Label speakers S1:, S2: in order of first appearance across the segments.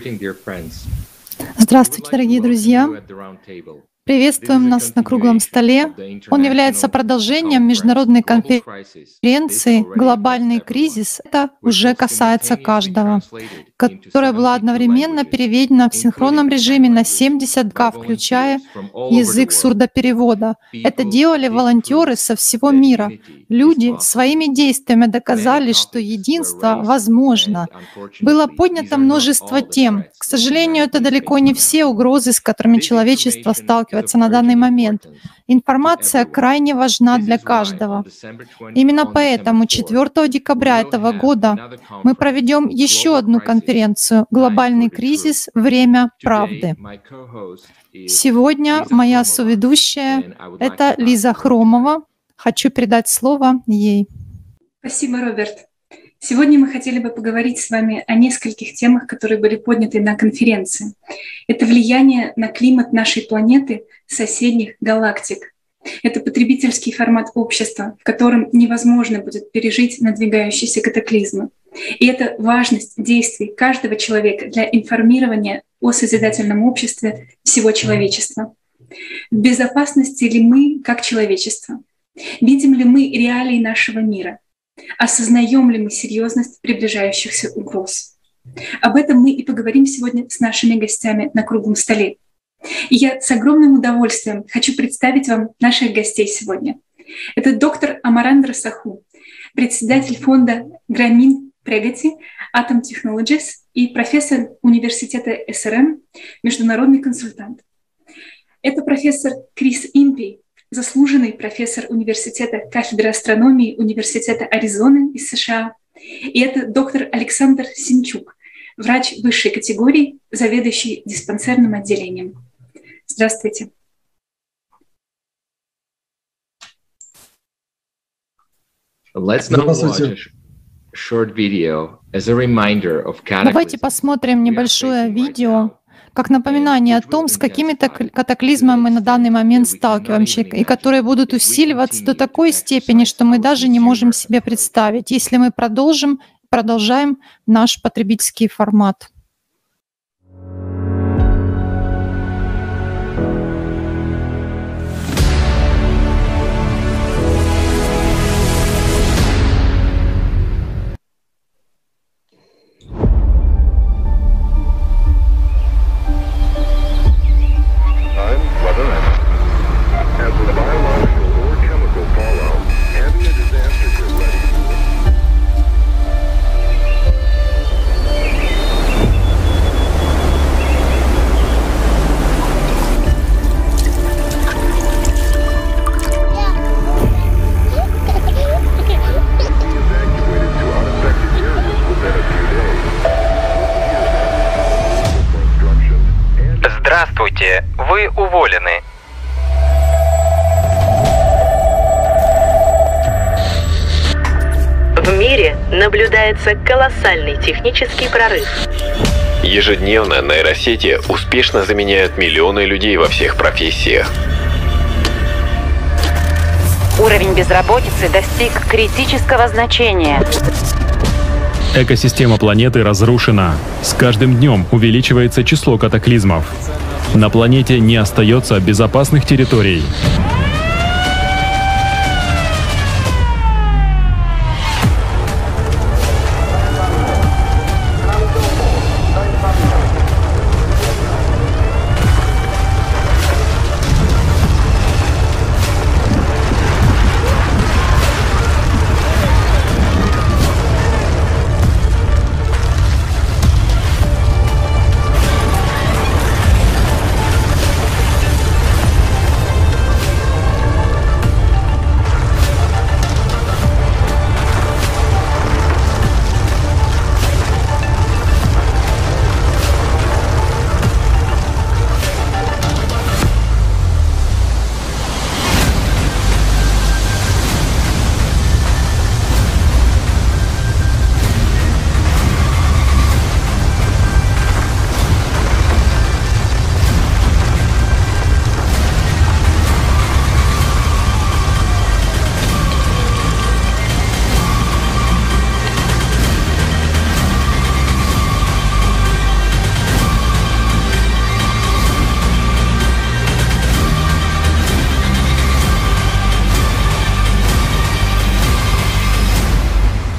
S1: Здравствуйте, дорогие друзья! Приветствуем нас на круглом столе. Он является продолжением международной конференции «Глобальный кризис». Это уже касается каждого, которая была одновременно переведена в синхронном режиме на 70 языков, включая язык сурдоперевода. Это делали волонтеры со всего мира. Люди своими действиями доказали, что единство возможно. Было поднято множество тем. К сожалению, это далеко не все угрозы, с которыми человечество сталкивается на данный момент. Информация крайне важна для каждого. Именно поэтому 4 декабря этого года мы проведем еще одну конференцию «Глобальный кризис. Время правды». Сегодня моя соведущая — это Лиза Хромова. Хочу передать слово ей.
S2: Спасибо, Роберт. Сегодня мы хотели бы поговорить с вами о нескольких темах, которые были подняты на конференции. Это влияние на климат нашей планеты соседних галактик. Это потребительский формат общества, в котором невозможно будет пережить надвигающиеся катаклизмы. И это важность действий каждого человека для информирования о созидательном обществе всего человечества. В безопасности ли мы как человечество? Видим ли мы реалии нашего мира? Осознаем ли мы серьезность приближающихся угроз? Об этом мы и поговорим сегодня с нашими гостями на круглом столе. И я с огромным удовольствием хочу представить вам наших гостей сегодня. Это доктор Амарандра Саху, председатель фонда Грамин Прегати Atom Technologies и профессор университета СРМ, международный консультант. Это профессор Крис Импей, заслуженный профессор университета кафедры астрономии Университета Аризоны из США. И это доктор Александр Синчук, врач высшей категории, заведующий диспансерным отделением. Здравствуйте.
S1: Здравствуйте. Давайте посмотрим небольшое видео, как напоминание о том, с какими катаклизмами мы на данный момент сталкиваемся, и которые будут усиливаться до такой степени, что мы даже не можем себе представить, если мы продолжаем наш потребительский формат.
S3: Здравствуйте, вы уволены.
S4: В мире наблюдается колоссальный технический прорыв.
S5: Ежедневно нейросети успешно заменяют миллионы людей во всех профессиях.
S6: Уровень безработицы достиг критического значения.
S7: Экосистема планеты разрушена. С каждым днем увеличивается число катаклизмов. На планете не остается безопасных территорий.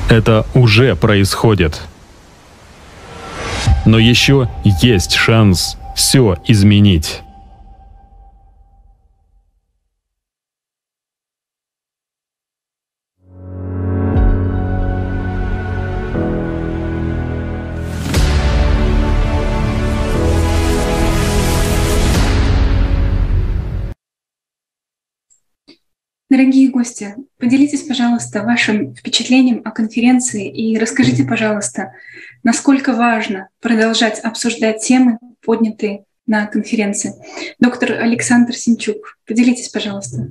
S7: Это уже происходит. Но еще есть шанс все изменить.
S2: Дорогие гости, поделитесь, пожалуйста, вашим впечатлением о конференции и расскажите, пожалуйста, насколько важно продолжать обсуждать темы, поднятые на конференции. Доктор Александр Синчук, поделитесь, пожалуйста.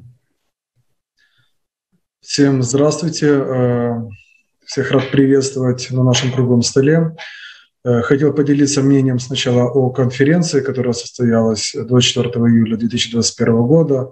S8: Всем здравствуйте. Всех рад приветствовать на нашем круглом столе. Хотел поделиться мнением сначала о конференции, которая состоялась 24 июля 2021 года.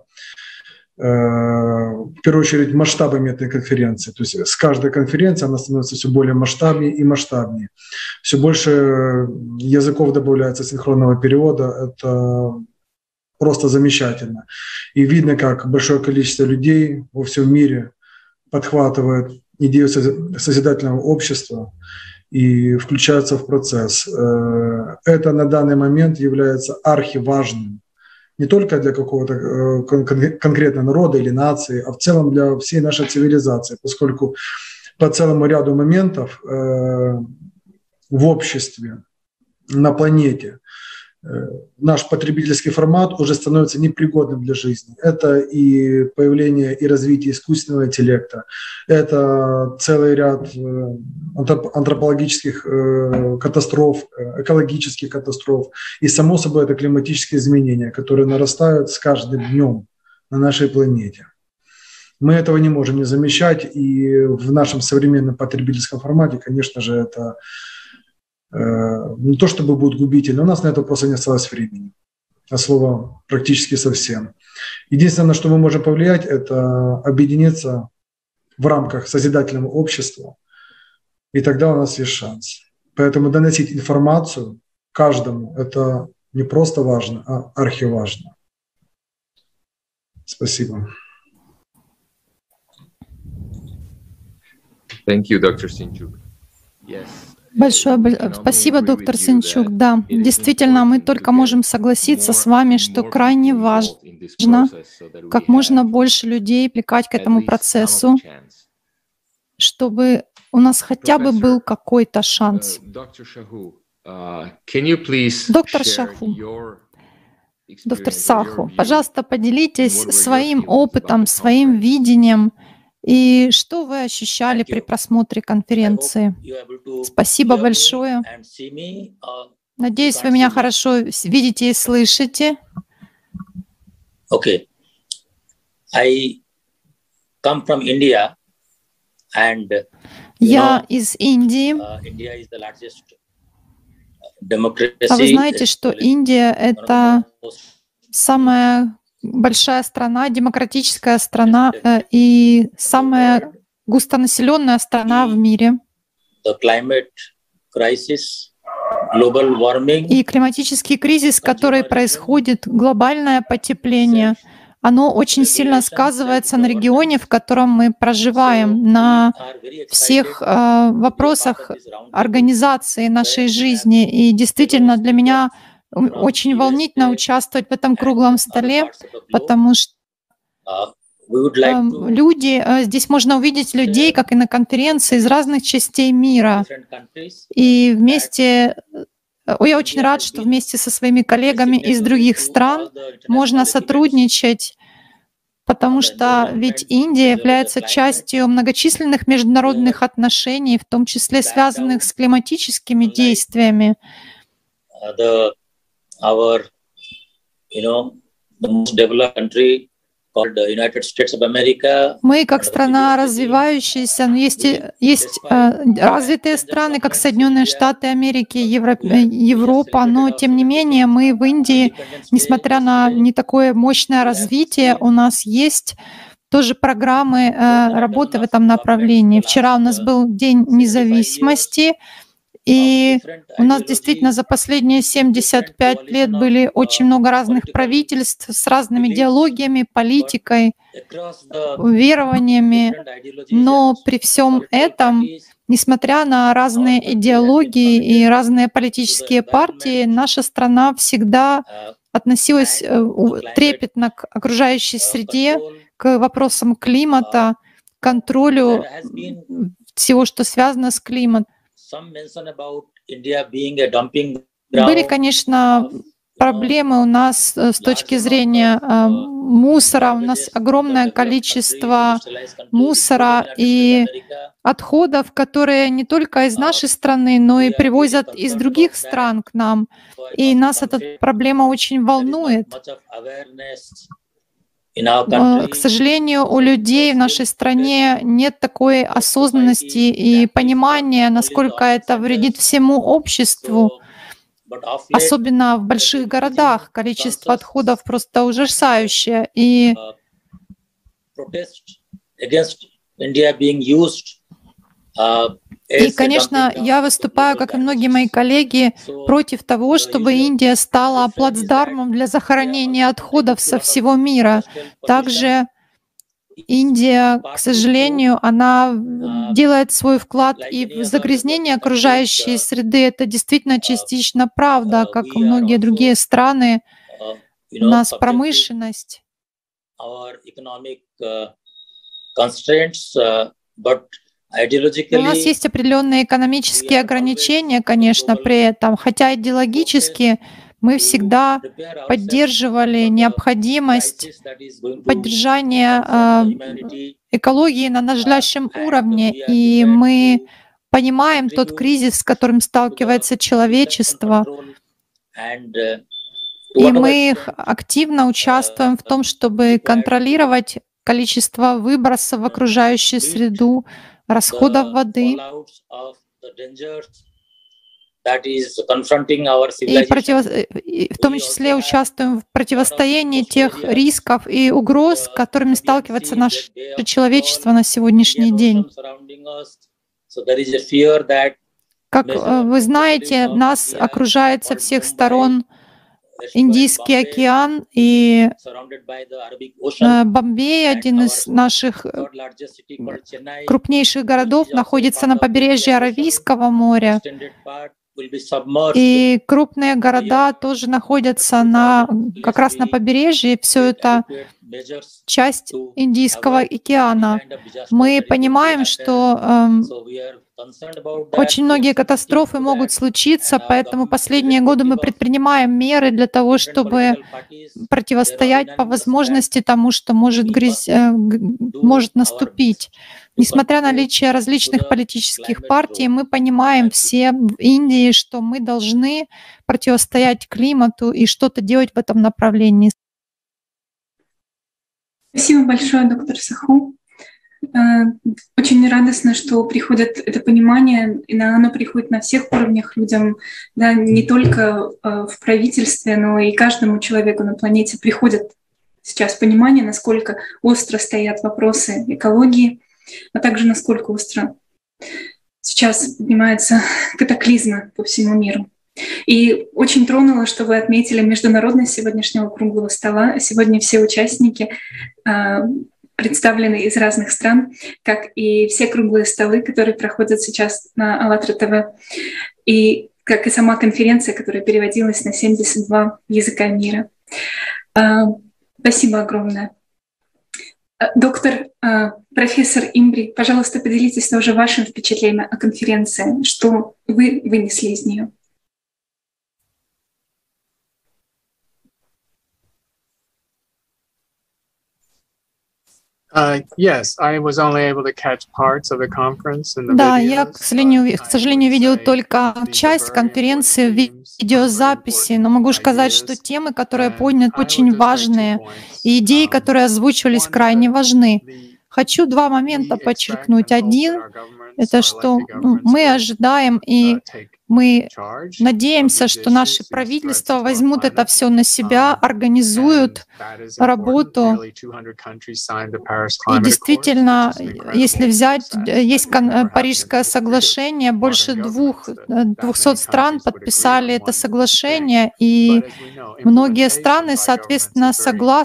S8: В первую очередь масштабами этой конференции. То есть с каждой конференцией она становится все более масштабнее и масштабнее. Все больше языков добавляется синхронного перевода. Это просто замечательно. И видно, как большое количество людей во всем мире подхватывает идею созидательного общества и включаются в процесс. Это на данный момент является архиважным. Не только для какого-то конкретного народа или нации, а в целом для всей нашей цивилизации, поскольку по целому ряду моментов в обществе, на планете наш потребительский формат уже становится непригодным для жизни. Это и появление и развитие искусственного интеллекта, это целый ряд антропологических катастроф, экологических катастроф, и, само собой, это климатические изменения, которые нарастают с каждым днем на нашей планете. Мы этого не можем не замечать, и в нашем современном потребительском формате, конечно же, это не то чтобы будет губительно, у нас на это просто не осталось времени, а слова практически совсем. Единственное, на что мы можем повлиять, это объединиться в рамках созидательного общества, и тогда у нас есть шанс. Поэтому доносить информацию каждому – это не просто важно, а архиважно. Спасибо.
S5: Thank you, Dr. Sinchuk. Yes.
S1: Большое спасибо, доктор Синчук. Да, действительно, мы только можем согласиться с вами, что крайне важно как можно больше людей привлекать к этому процессу, чтобы у нас хотя бы был какой-то шанс. Доктор Шаху, доктор Саху, пожалуйста, поделитесь своим опытом, своим видением, и что вы ощущали при просмотре конференции? Спасибо большое. Надеюсь, вы меня хорошо видите и слышите.
S9: Okay. I come from India, and
S1: я из Индии.
S9: India is the largest democracy.
S1: А вы знаете, что Индия — это самая большая страна, демократическая страна и самая густонаселенная страна в мире. И климатический кризис, который происходит, глобальное потепление, оно очень сильно сказывается на регионе, в котором мы проживаем, на всех вопросах организации нашей жизни. И действительно для меня очень волнительно участвовать в этом круглом столе, потому что люди, здесь можно увидеть людей, как и на конференции, из разных частей мира. И вместе, я очень рад, что вместе со своими коллегами из других стран можно сотрудничать, потому что ведь Индия является частью многочисленных международных отношений, в том числе связанных с климатическими действиями.
S9: Our, the most developed country called the United States of America.
S1: Мы, как страна развивающаяся, но есть развитые страны, как Соединенные Штаты Америки, Европа, но тем не менее мы в Индии, несмотря на не такое мощное развитие, у нас есть тоже программы работы в этом направлении. Вчера у нас был День независимости, и у нас действительно за последние 75 лет были очень много разных правительств с разными идеологиями, политикой, верованиями. Но при всем этом Несмотря на разные идеологии и разные политические партии, наша страна всегда относилась трепетно к окружающей среде, к вопросам климата, контролю всего, что связано с климатом. Были, конечно, проблемы у нас с точки зрения мусора. У нас огромное количество мусора и отходов, которые не только из нашей страны, но и привозят из других стран к нам. И нас эта проблема очень волнует. К сожалению, у людей в нашей стране нет такой осознанности и понимания, насколько это вредит всему обществу. Особенно в больших городах количество отходов просто ужасающее. И конечно, я выступаю, как и многие мои коллеги, против того, чтобы Индия стала плацдармом для захоронения отходов со всего мира. Также Индия, к сожалению, она делает свой вклад и в загрязнение окружающей среды. Это действительно частично правда, как и многие другие страны. У нас промышленность. У нас есть определенные экономические ограничения, конечно, при этом, хотя идеологически мы всегда поддерживали необходимость поддержания экологии на надлежащем уровне, и мы понимаем тот кризис, с которым сталкивается человечество, и мы активно участвуем в том, чтобы контролировать количество выбросов в окружающую среду, расходов воды. И в том числе участвуем в противостоянии тех рисков и угроз, с которыми сталкивается наше человечество на сегодняшний день. Как вы знаете, нас окружает со всех сторон Индийский океан, и Бомбей, один из наших крупнейших городов, находится на побережье Аравийского моря. И крупные города тоже находятся как раз на побережье. Все это часть Индийского океана. Мы понимаем, что очень многие катастрофы могут случиться, поэтому последние годы мы предпринимаем меры для того, чтобы противостоять по возможности тому, что может наступить. Несмотря на наличие различных политических партий, мы понимаем все в Индии, что мы должны противостоять климату и что-то делать в этом направлении.
S2: Спасибо большое, доктор Саху. Очень радостно, что приходит это понимание, и оно приходит на всех уровнях людям, да, не только в правительстве, но и каждому человеку на планете приходит сейчас понимание, насколько остро стоят вопросы экологии, а также насколько остро сейчас поднимаются катаклизмы по всему миру. И очень тронуло, что вы отметили международность сегодняшнего круглого стола. Сегодня все участники представлены из разных стран, как и все круглые столы, которые проходят сейчас на АЛЛАТРА ТВ, и как и сама конференция, которая переводилась на 72 языка мира. Спасибо огромное. Доктор, профессор Имбри, пожалуйста, поделитесь тоже вашим впечатлением о конференции, что вы вынесли из нее.
S1: Да, я, к сожалению, видел только часть конференции в видеозаписи, но могу сказать, что темы, которые подняты, очень важные, и идеи, которые озвучивались, крайне важны. Хочу два момента подчеркнуть. Один — это что мы ожидаем и мы надеемся, что наши правительства возьмут это все на себя, организуют работу. И действительно, если взять, есть Парижское соглашение, больше 200 стран подписали это соглашение, и многие страны, соответственно, согласны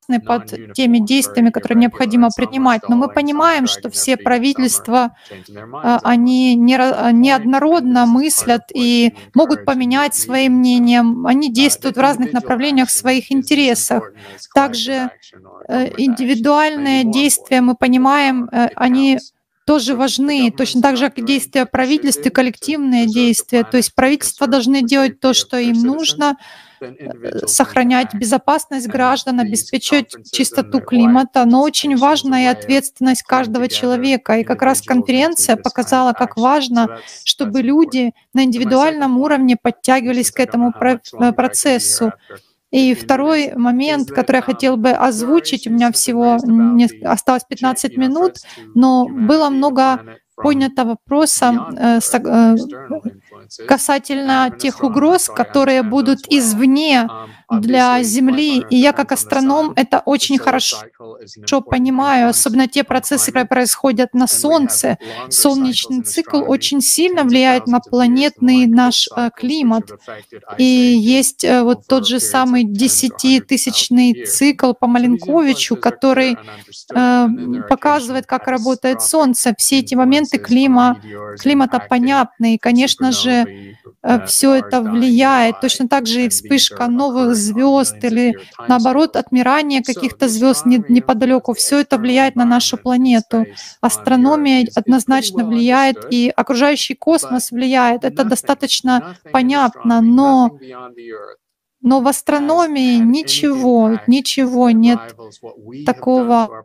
S1: под теми действиями, которые необходимо принимать. Но мы понимаем, что все правительства, они неоднородно мыслят и могут поменять свои мнения. Они действуют в разных направлениях в своих интересах. Также индивидуальные действия, мы понимаем, они тоже важны, точно так же, как и действия правительств и коллективные действия. То есть правительства должны делать то, что им нужно, сохранять безопасность граждан, обеспечивать чистоту климата, но очень важна и ответственность каждого человека. И как раз конференция показала, как важно, чтобы люди на индивидуальном уровне подтягивались к этому процессу. И второй момент, который я хотел бы озвучить, у меня всего осталось 15 минут, но было много поднято вопроса касательно тех угроз, которые будут извне для Земли. И я как астроном это очень хорошо понимаю, особенно те процессы, которые происходят на Солнце. Солнечный цикл очень сильно влияет на планетный наш климат. И есть вот тот же самый 10-тысячный цикл по Маленковичу, который показывает, как работает Солнце. Все эти моменты климата понятны. И, конечно же, все это влияет. Точно так же и вспышка новых звезд или, наоборот, отмирание каких-то звезд неподалеку. Все это влияет на нашу планету. Астрономия однозначно влияет, и окружающий космос влияет. Это достаточно понятно, но в астрономии ничего нет такого.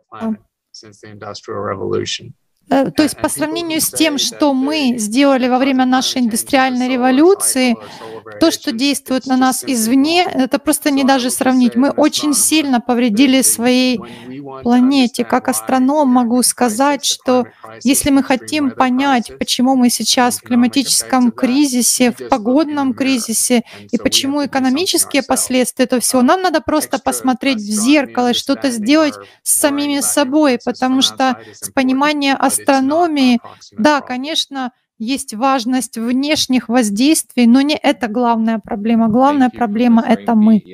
S1: То есть по сравнению с тем, что мы сделали во время нашей индустриальной революции, то, что действует на нас извне, это просто не даже сравнить. Мы очень сильно повредили своей планете. Как астроном могу сказать, что если мы хотим понять, почему мы сейчас в климатическом кризисе, в погодном кризисе, и почему экономические последствия этого всего, нам надо просто посмотреть в зеркало и что-то сделать с самими собой, потому что с понимания астрономии, да, конечно, есть важность внешних воздействий, но не это главная проблема. Главная проблема — это мы.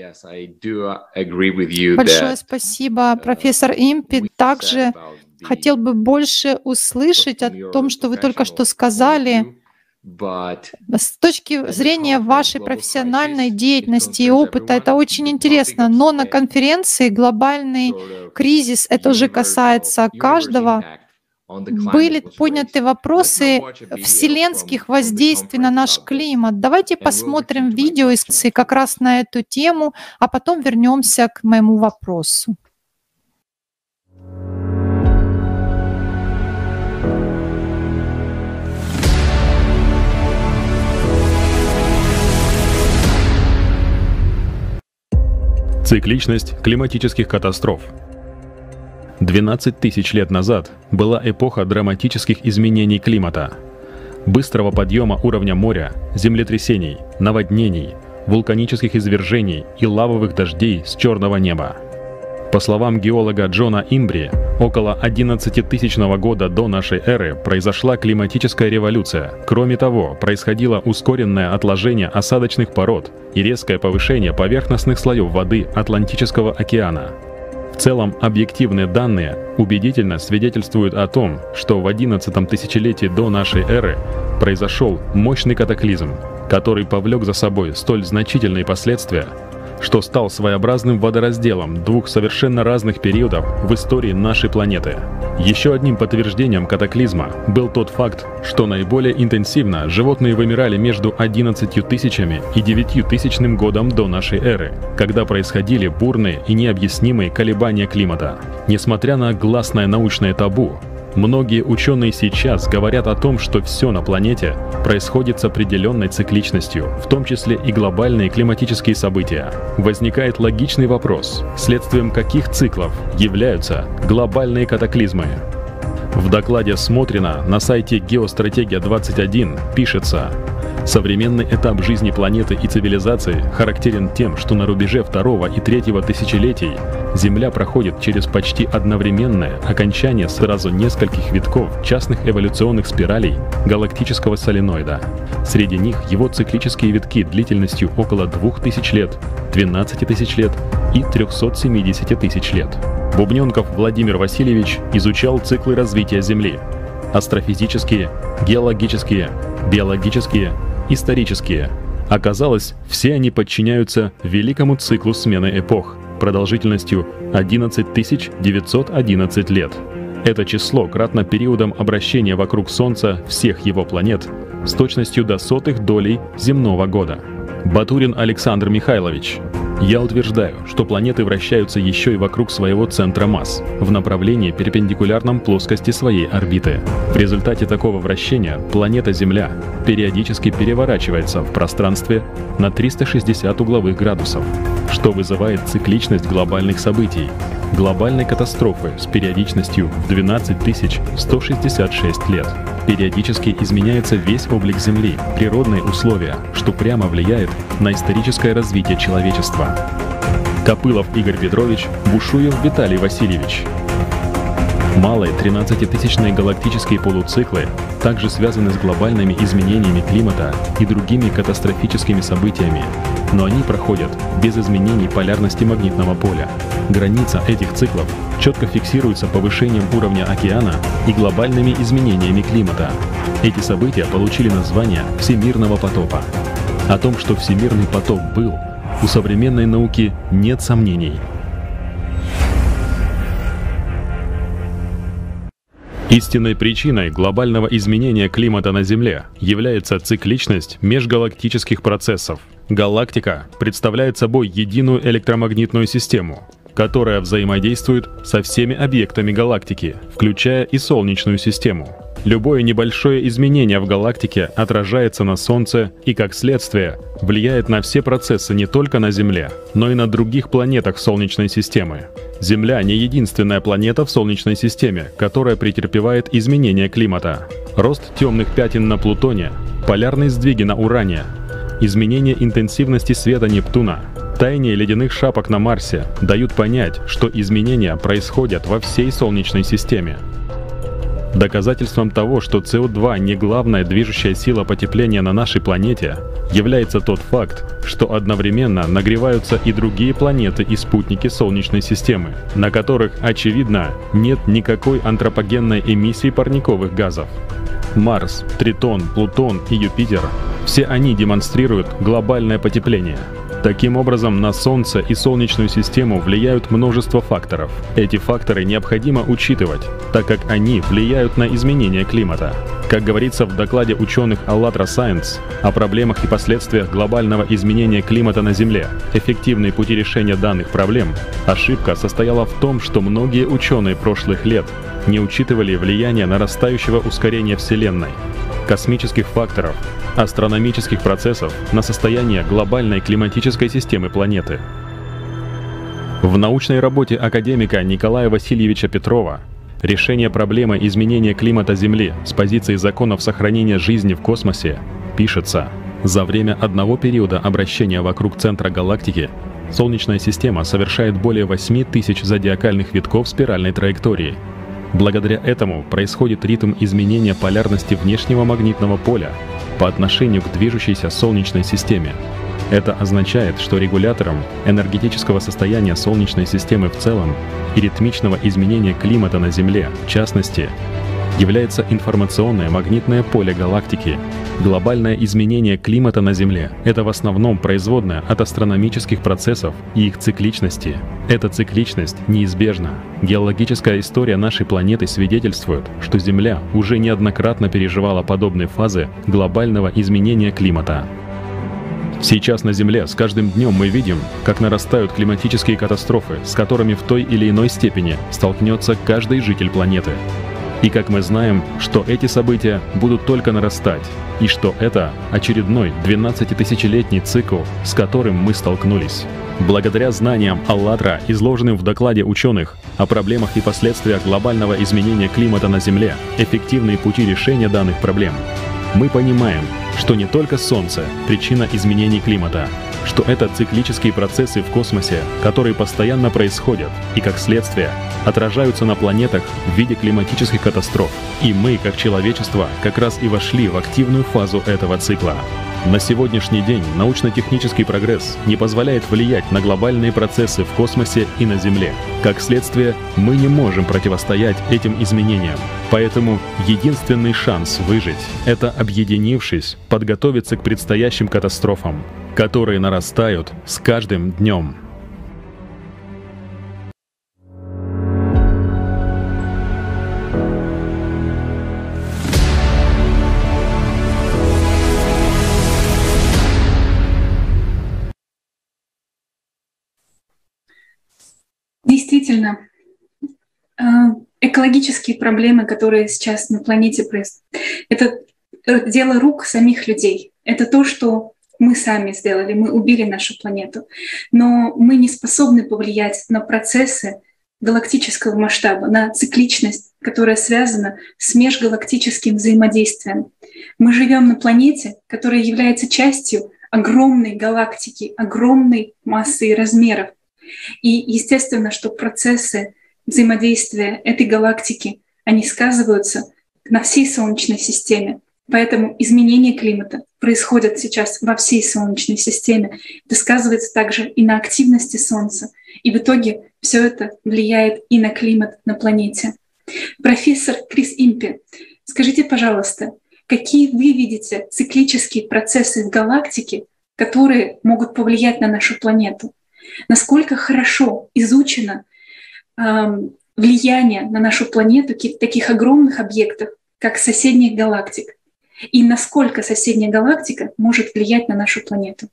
S1: Большое спасибо, профессор Импи. Также хотел бы больше услышать о том, что вы только что сказали. С точки зрения вашей профессиональной деятельности и опыта, это очень интересно. Но на конференции «Глобальный кризис» это уже касается каждого. Были подняты вопросы вселенских воздействий на наш климат. Давайте посмотрим видео как раз на эту тему, а потом вернемся к моему вопросу.
S7: Цикличность климатических катастроф. 12 тысяч лет назад была эпоха драматических изменений климата, быстрого подъема уровня моря, землетрясений, наводнений, вулканических извержений и лавовых дождей с черного неба. По словам геолога Джона Имбри, около 11-тысячного года до нашей эры произошла климатическая революция. Кроме того, происходило ускоренное отложение осадочных пород и резкое повышение поверхностных слоев воды Атлантического океана. В целом, объективные данные убедительно свидетельствуют о том, что в 11-м тысячелетии до нашей эры произошел мощный катаклизм, который повлек за собой столь значительные последствия, что стал своеобразным водоразделом двух совершенно разных периодов в истории нашей планеты. Еще одним подтверждением катаклизма был тот факт, что наиболее интенсивно животные вымирали между 11 тысячами и 9 тысячным годом до нашей эры, когда происходили бурные и необъяснимые колебания климата. Несмотря на гласное научное табу, многие ученые сейчас говорят о том, что все на планете происходит с определенной цикличностью, в том числе и глобальные климатические события. Возникает логичный вопрос, следствием каких циклов являются глобальные катаклизмы. В докладе Смотрина на сайте «Геостратегия-21» пишется: современный этап жизни планеты и цивилизации характерен тем, что на рубеже 2-го и 3-го тысячелетий Земля проходит через почти одновременное окончание сразу нескольких витков частных эволюционных спиралей галактического соленоида. Среди них его циклические витки длительностью около 2000 лет, 12 тысяч лет и 370 тысяч лет. Бубненков Владимир Васильевич изучал циклы развития Земли: астрофизические, геологические, биологические, исторические. Оказалось, все они подчиняются великому циклу смены эпох продолжительностью 11 911 лет. Это число кратно периодом обращения вокруг Солнца всех его планет с точностью до сотых долей земного года. Батурин Александр Михайлович: я утверждаю, что планеты вращаются еще и вокруг своего центра масс в направлении, перпендикулярном плоскости своей орбиты. В результате такого вращения планета Земля периодически переворачивается в пространстве на 360 угловых градусов, что вызывает цикличность глобальных событий, глобальной катастрофы с периодичностью в 12 166 лет. Периодически изменяется весь облик Земли, природные условия, что прямо влияет на историческое развитие человечества. Копылов Игорь Петрович, Бушуев Виталий Васильевич. Малые 13-тысячные галактические полуциклы также связаны с глобальными изменениями климата и другими катастрофическими событиями, но они проходят без изменений полярности магнитного поля. Граница этих циклов четко фиксируется повышением уровня океана и глобальными изменениями климата. Эти события получили название Всемирного потопа. О том, что Всемирный потоп был, у современной науки нет сомнений. Истинной причиной глобального изменения климата на Земле является цикличность межгалактических процессов. Галактика представляет собой единую электромагнитную систему, которая взаимодействует со всеми объектами галактики, включая и Солнечную систему. Любое небольшое изменение в галактике отражается на Солнце и, как следствие, влияет на все процессы не только на Земле, но и на других планетах Солнечной системы. Земля не единственная планета в Солнечной системе, которая претерпевает изменения климата. Рост темных пятен на Плутоне, полярные сдвиги на Уране, изменение интенсивности света Нептуна, таяние ледяных шапок на Марсе дают понять, что изменения происходят во всей Солнечной системе. Доказательством того, что СО2 не главная движущая сила потепления на нашей планете, является тот факт, что одновременно нагреваются и другие планеты и спутники Солнечной системы, на которых, очевидно, нет никакой антропогенной эмиссии парниковых газов. Марс, Тритон, Плутон и Юпитер – все они демонстрируют глобальное потепление. Таким образом, на Солнце и Солнечную систему влияют множество факторов. Эти факторы необходимо учитывать, так как они влияют на изменение климата. Как говорится в докладе ученых АЛЛАТРА Science о проблемах и последствиях глобального изменения климата на Земле, эффективные пути решения данных проблем, ошибка состояла в том, что многие ученые прошлых лет не учитывали влияние нарастающего ускорения Вселенной, космических факторов, астрономических процессов на состояние глобальной климатической системы планеты. В научной работе академика Николая Васильевича Петрова «Решение проблемы изменения климата Земли с позиции законов сохранения жизни в космосе» пишется: за время одного периода обращения вокруг центра галактики Солнечная система совершает более 8000 зодиакальных витков спиральной траектории. Благодаря этому происходит ритм изменения полярности внешнего магнитного поля по отношению к движущейся Солнечной системе. Это означает, что регулятором энергетического состояния Солнечной системы в целом и ритмичного изменения климата на Земле, в частности, является информационное магнитное поле галактики. Глобальное изменение климата на Земле — это в основном производное от астрономических процессов и их цикличности. Эта цикличность неизбежна. Геологическая история нашей планеты свидетельствует, что Земля уже неоднократно переживала подобные фазы глобального изменения климата. Сейчас на Земле с каждым днем мы видим, как нарастают климатические катастрофы, с которыми в той или иной степени столкнется каждый житель планеты. И как мы знаем, что эти события будут только нарастать, и что это очередной 12-тысячелетний цикл, с которым мы столкнулись. Благодаря знаниям АЛЛАТРА, изложенным в докладе ученых о проблемах и последствиях глобального изменения климата на Земле, эффективные пути решения данных проблем, мы понимаем, что не только Солнце – причина изменений климата, что это циклические процессы в космосе, которые постоянно происходят и, как следствие, отражаются на планетах в виде климатических катастроф. И мы, как человечество, как раз и вошли в активную фазу этого цикла. На сегодняшний день научно-технический прогресс не позволяет влиять на глобальные процессы в космосе и на Земле. Как следствие, мы не можем противостоять этим изменениям. Поэтому единственный шанс выжить — это, объединившись, подготовиться к предстоящим катастрофам, которые нарастают с каждым днем.
S2: Действительно, экологические проблемы, которые сейчас на планете происходят, это дело рук самих людей. Это то, что мы сами сделали, мы убили нашу планету. Но мы не способны повлиять на процессы галактического масштаба, на цикличность, которая связана с межгалактическим взаимодействием. Мы живем на планете, которая является частью огромной галактики, огромной массы и размеров. И естественно, что процессы взаимодействия этой галактики, они сказываются на всей Солнечной системе. Поэтому изменения климата происходят сейчас во всей Солнечной системе. Это сказывается также и на активности Солнца. И в итоге все это влияет и на климат на планете. Профессор Крис Импи, скажите, пожалуйста, какие вы видите циклические процессы в галактике, которые могут повлиять на нашу планету? Насколько хорошо изучено влияние на нашу планету таких огромных объектов, как соседних галактик, и насколько соседняя галактика может влиять на нашу планету?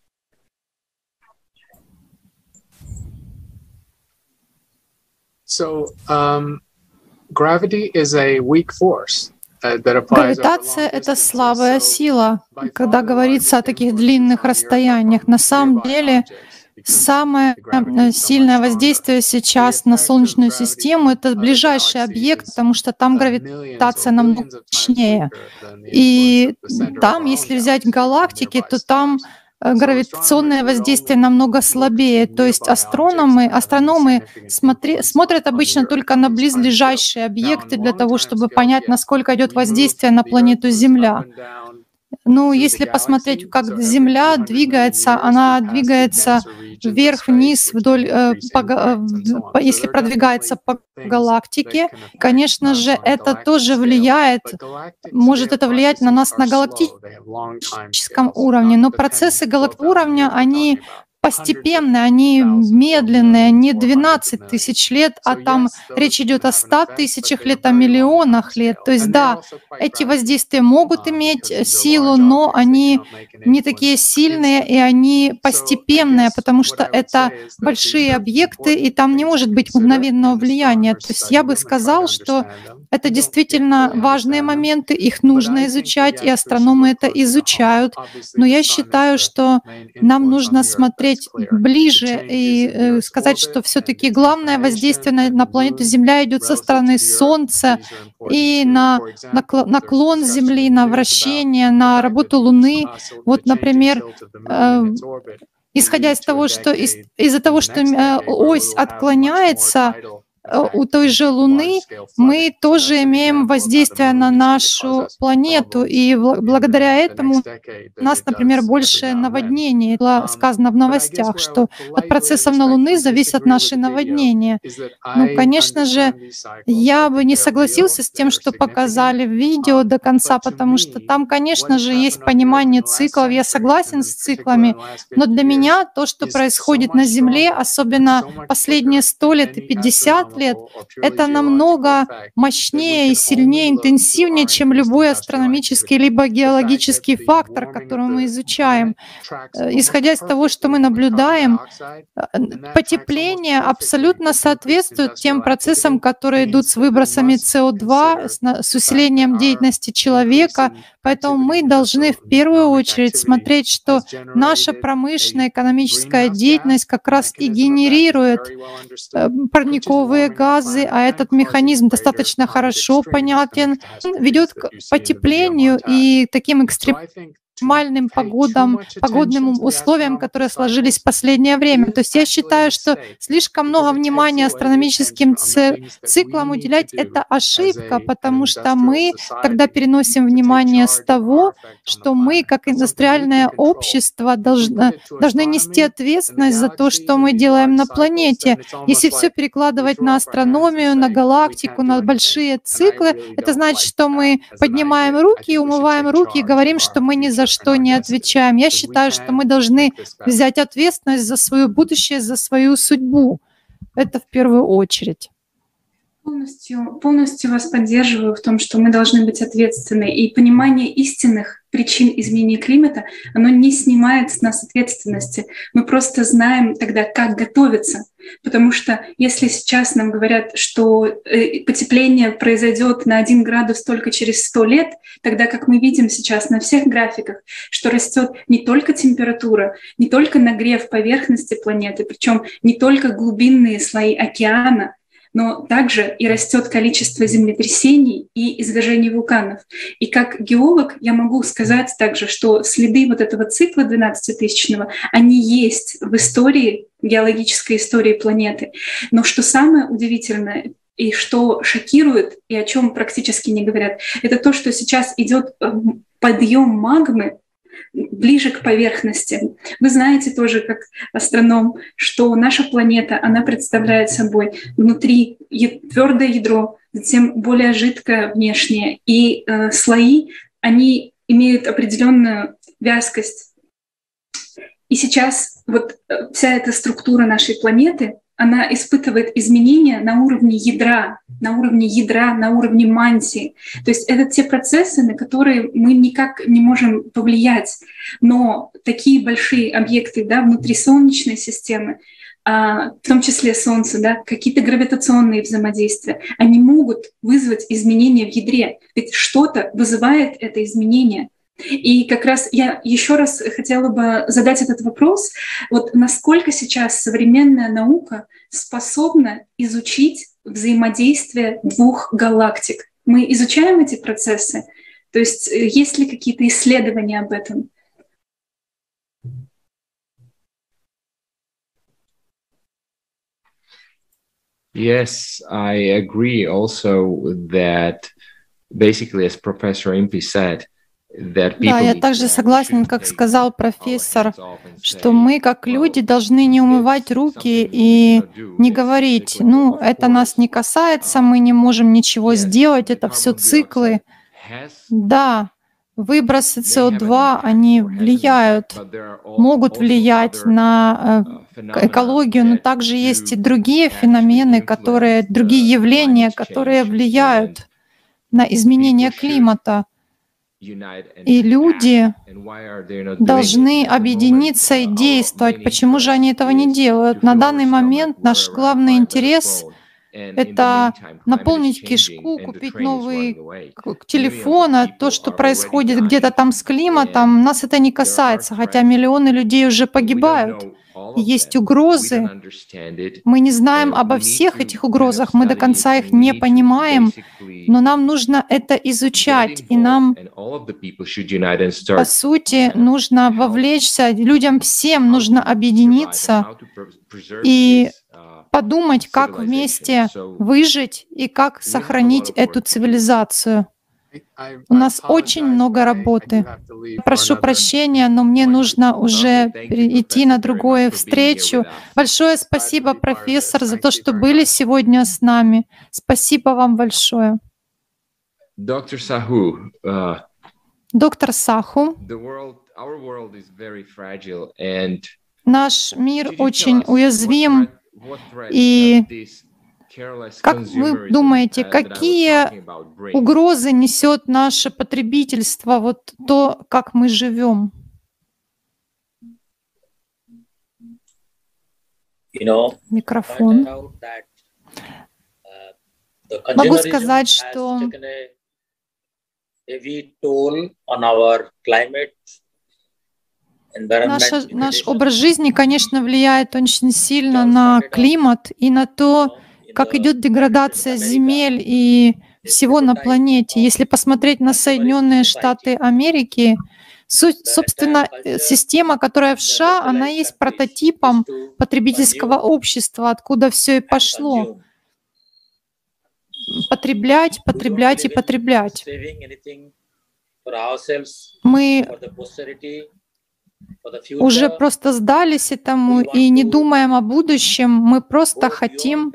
S1: Гравитация — это слабая сила, когда говорится о таких длинных расстояниях. На самом деле, самое сильное воздействие сейчас на Солнечную систему — это ближайший объект, потому что там гравитация намного мощнее. И там, если взять галактики, то там гравитационное воздействие намного слабее. То есть астрономы смотрят обычно только на близлежащие объекты для того, чтобы понять, насколько идет воздействие на планету Земля. Ну, если посмотреть, как Земля двигается, она двигается вверх-вниз, вдоль, если продвигается по галактике, конечно же, это тоже влияет, может это влиять на нас на галактическом уровне, но процессы уровня, они постепенно, они медленные, не 12 тысяч лет, а там речь идет о 100 тысячах лет, о миллионах лет. То есть да, эти воздействия могут иметь силу, но они не такие сильные, и они постепенные, потому что это большие объекты, и там не может быть мгновенного влияния. То есть я бы сказал, что это действительно важные моменты, их нужно изучать, и астрономы это изучают. Но я считаю, что нам нужно смотреть ближе и сказать, что все-таки главное воздействие на планету Земля идет со стороны Солнца и на наклон Земли, на вращение, на работу Луны. Вот, например, исходя из того, что из-за того, что ось отклоняется у той же Луны, мы тоже имеем воздействие на нашу планету, и благодаря этому у нас, например, больше наводнений. Было сказано в новостях, что от процессов на Луны зависят наши наводнения. Ну, конечно же, я бы не согласился с тем, что показали в видео до конца, потому что там, конечно же, есть понимание циклов. Я согласен с циклами, но для меня то, что происходит на Земле, особенно последние 100 лет и 50 лет, это намного мощнее и сильнее, интенсивнее, чем любой астрономический либо геологический фактор, который мы изучаем. Исходя из того, что мы наблюдаем, потепление абсолютно соответствует тем процессам, которые идут с выбросами СО2, с усилением деятельности человека. Поэтому мы должны в первую очередь смотреть, что наша промышленная экономическая деятельность как раз и генерирует парниковые газы, а этот механизм достаточно хорошо понятен, ведет к потеплению и таким экстремальным погодным условиям, которые сложились в последнее время. То есть я считаю, что слишком много внимания астрономическим циклам уделять — это ошибка, потому что мы тогда переносим внимание с того, что мы, как индустриальное общество, должны нести ответственность за то, что мы делаем на планете. Если все перекладывать на астрономию, на галактику, на большие циклы, это значит, что мы поднимаем руки, умываем руки и говорим, что мы ни за что не отвечаем. Я считаю, что мы должны взять ответственность за свое будущее, за свою судьбу. Это в первую очередь.
S2: Полностью вас поддерживаю в том, что мы должны быть ответственны. И понимание истинных причин изменения климата, оно не снимает с нас ответственности. Мы просто знаем тогда, как готовиться. Потому что если сейчас нам говорят, что потепление произойдет на 1 градус только через 100 лет, тогда как мы видим сейчас на всех графиках, что растет не только температура, не только нагрев поверхности планеты, причем не только глубинные слои океана, но также и растет количество землетрясений и извержений вулканов. И как геолог я могу сказать также, что следы вот этого цикла 12-тысячного, они есть в истории, геологической истории планеты. Но что самое удивительное и что шокирует, и о чем практически не говорят, это то, что сейчас идет подъем магмы ближе к поверхности. Вы знаете тоже, как астроном, что наша планета, она представляет собой внутри твердое ядро, затем более жидкое внешнее, и слои, они имеют определенную вязкость. И сейчас вот вся эта структура нашей планеты, она испытывает изменения на уровне ядра, на уровне мантии. То есть это те процессы, на которые мы никак не можем повлиять. Но такие большие объекты, да, внутри Солнечной системы, в том числе Солнце, да, какие-то гравитационные взаимодействия, они могут вызвать изменения в ядре. Ведь что-то вызывает это изменение. И как раз я еще раз хотела бы задать этот вопрос. Вот насколько сейчас современная наука способна изучить взаимодействие 2 галактик? Мы изучаем эти процессы? То есть есть ли какие-то исследования об этом?
S10: Yes, I agree also that basically, as Professor Impi said,
S1: да, я также согласен, как сказал профессор, что мы, как люди, должны не умывать руки и не говорить, ну, это нас не касается, мы не можем ничего сделать, это все циклы. Да, выбросы СО2, они влияют, могут влиять на экологию, но также есть и другие феномены, другие явления, которые влияют на изменение климата. И люди должны объединиться и действовать. Почему же они этого не делают? На данный момент наш главный интерес — это наполнить кишку, купить новый телефон, а то, что происходит где-то там с климатом, нас это не касается, хотя миллионы людей уже погибают. Есть угрозы. Мы не знаем обо всех этих угрозах, мы до конца их не понимаем, но нам нужно это изучать, и нам, по сути, нужно вовлечься, людям всем нужно объединиться и подумать, как вместе выжить и как сохранить эту цивилизацию. У нас очень много работы. Прошу прощения, но мне нужно уже идти на другую встречу. Большое спасибо, профессор, за то, что были сегодня с нами. Спасибо вам большое.
S10: Доктор Саху,
S1: наш мир очень уязвим, и как вы думаете, какие угрозы несет наше потребительство, вот то, как мы живем? Микрофон. Могу сказать, что наш образ жизни, конечно, влияет очень сильно на климат и на то, как идет деградация земель и всего на планете. Если посмотреть на Соединенные Штаты Америки, Собственно, система, которая в США, она есть прототипом потребительского общества, откуда все и пошло. Потреблять, потреблять и потреблять. Мы уже просто сдались этому и не думаем о будущем, мы просто хотим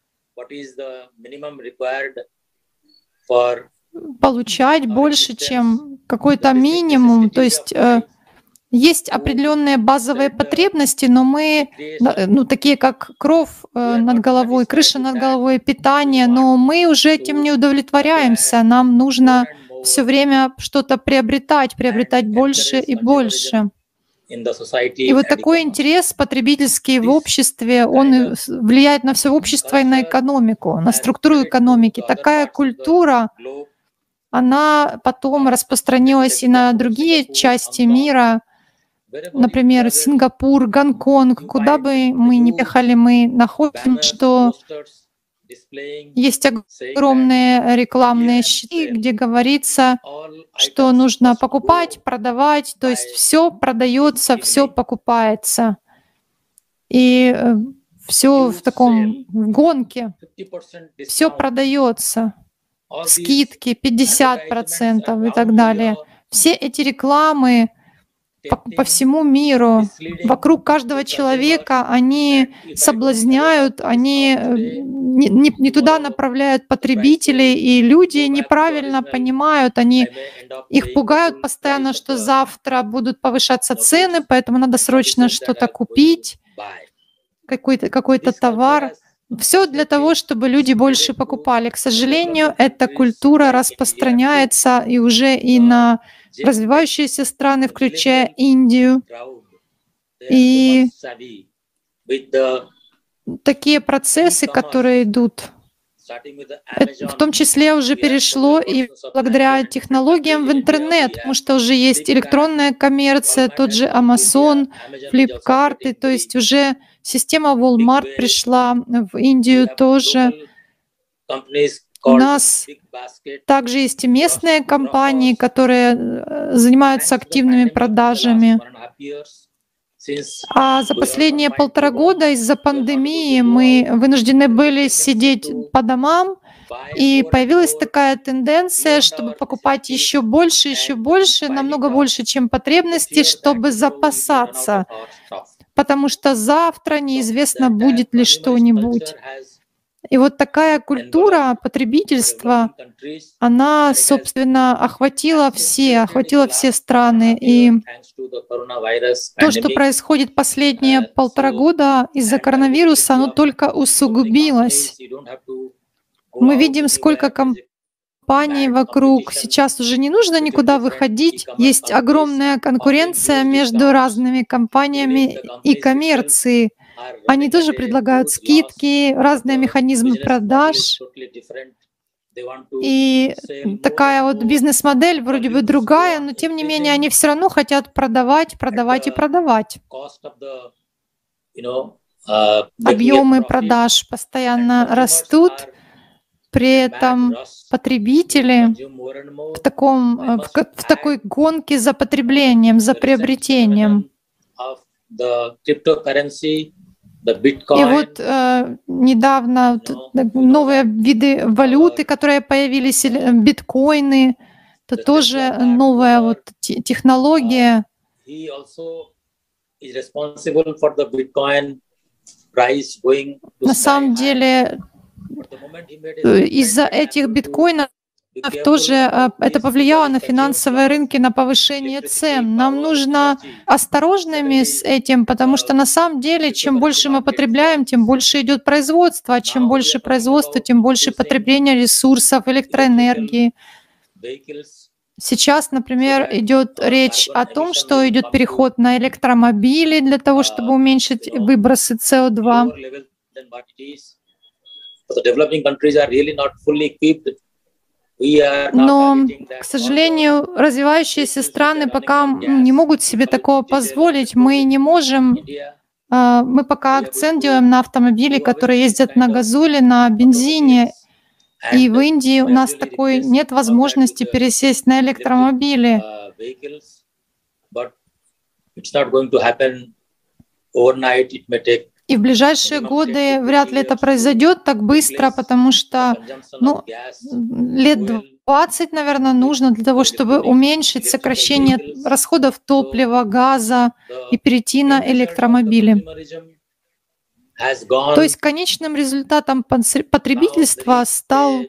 S1: получать больше, чем какой-то минимум. То есть есть определенные базовые потребности, но мы, такие как кров над головой, крыша над головой, питание, но мы уже этим не удовлетворяемся. Нам нужно все время что-то приобретать больше и больше. И вот такой интерес потребительский в обществе, он влияет на все общество и на экономику, на структуру экономики. Такая культура, она потом распространилась и на другие части мира, например, Сингапур, Гонконг, куда бы мы ни ехали, мы находим, что есть огромные рекламные щиты, где говорится, что нужно покупать, продавать, то есть все продается, все покупается. И все в таком в гонке, все продается, скидки 50% и так далее. Все эти рекламы по всему миру, вокруг каждого человека, они соблазняют, они не туда направляют потребителей, и люди неправильно понимают, их пугают постоянно, что завтра будут повышаться цены, поэтому надо срочно что-то купить, какой-то товар. Все для того, чтобы люди больше покупали. К сожалению, эта культура распространяется и уже и на развивающиеся страны, включая Индию. И такие процессы, которые идут, в том числе уже перешло и благодаря технологиям в интернет, потому что уже есть электронная коммерция, тот же Amazon, Flipkart, то есть уже система Walmart пришла в Индию тоже. У нас также есть и местные компании, которые занимаются активными продажами. А за последние 1,5 года из-за пандемии мы вынуждены были сидеть по домам, и появилась такая тенденция, чтобы покупать еще больше, намного больше, чем потребности, чтобы запасаться, потому что завтра неизвестно, будет ли что-нибудь. И вот такая культура потребительства, она, собственно, охватила все страны. И то, что происходит последние 1,5 года из-за коронавируса, оно только усугубилось. Мы видим, сколько компаний вокруг. Сейчас уже не нужно никуда выходить. Есть огромная конкуренция между разными компаниями и коммерцией. Они тоже предлагают скидки, разные механизмы продаж. И такая вот бизнес-модель вроде бы другая, но тем не менее они все равно хотят продавать. Объемы продаж постоянно растут, при этом потребители в такой гонке за потреблением, за приобретением. И вот недавно новые виды валюты, которые появились, биткоины, это тоже новая технология. На самом деле, из-за этих биткоинов тоже это повлияло на финансовые рынки, на повышение цен. Нам нужно осторожными с этим, потому что на самом деле, чем больше мы потребляем, тем больше идет производство, а чем больше производства, тем больше потребления ресурсов, электроэнергии. Сейчас, например, идет речь о том, что идет переход на электромобили для того, чтобы уменьшить выбросы СО2. Но, к сожалению, развивающиеся страны пока не могут себе такого позволить. Мы не можем, мы пока акцент делаем на автомобили, которые ездят на газоле, на бензине. И в Индии у нас такой нет возможности пересесть на электромобили.
S9: it's not going to happen overnight. It may take.
S1: И в ближайшие годы вряд ли это произойдет так быстро, потому что лет 20, наверное, нужно для того, чтобы уменьшить сокращение расходов топлива, газа и перейти на электромобили. То есть конечным результатом потребительства стало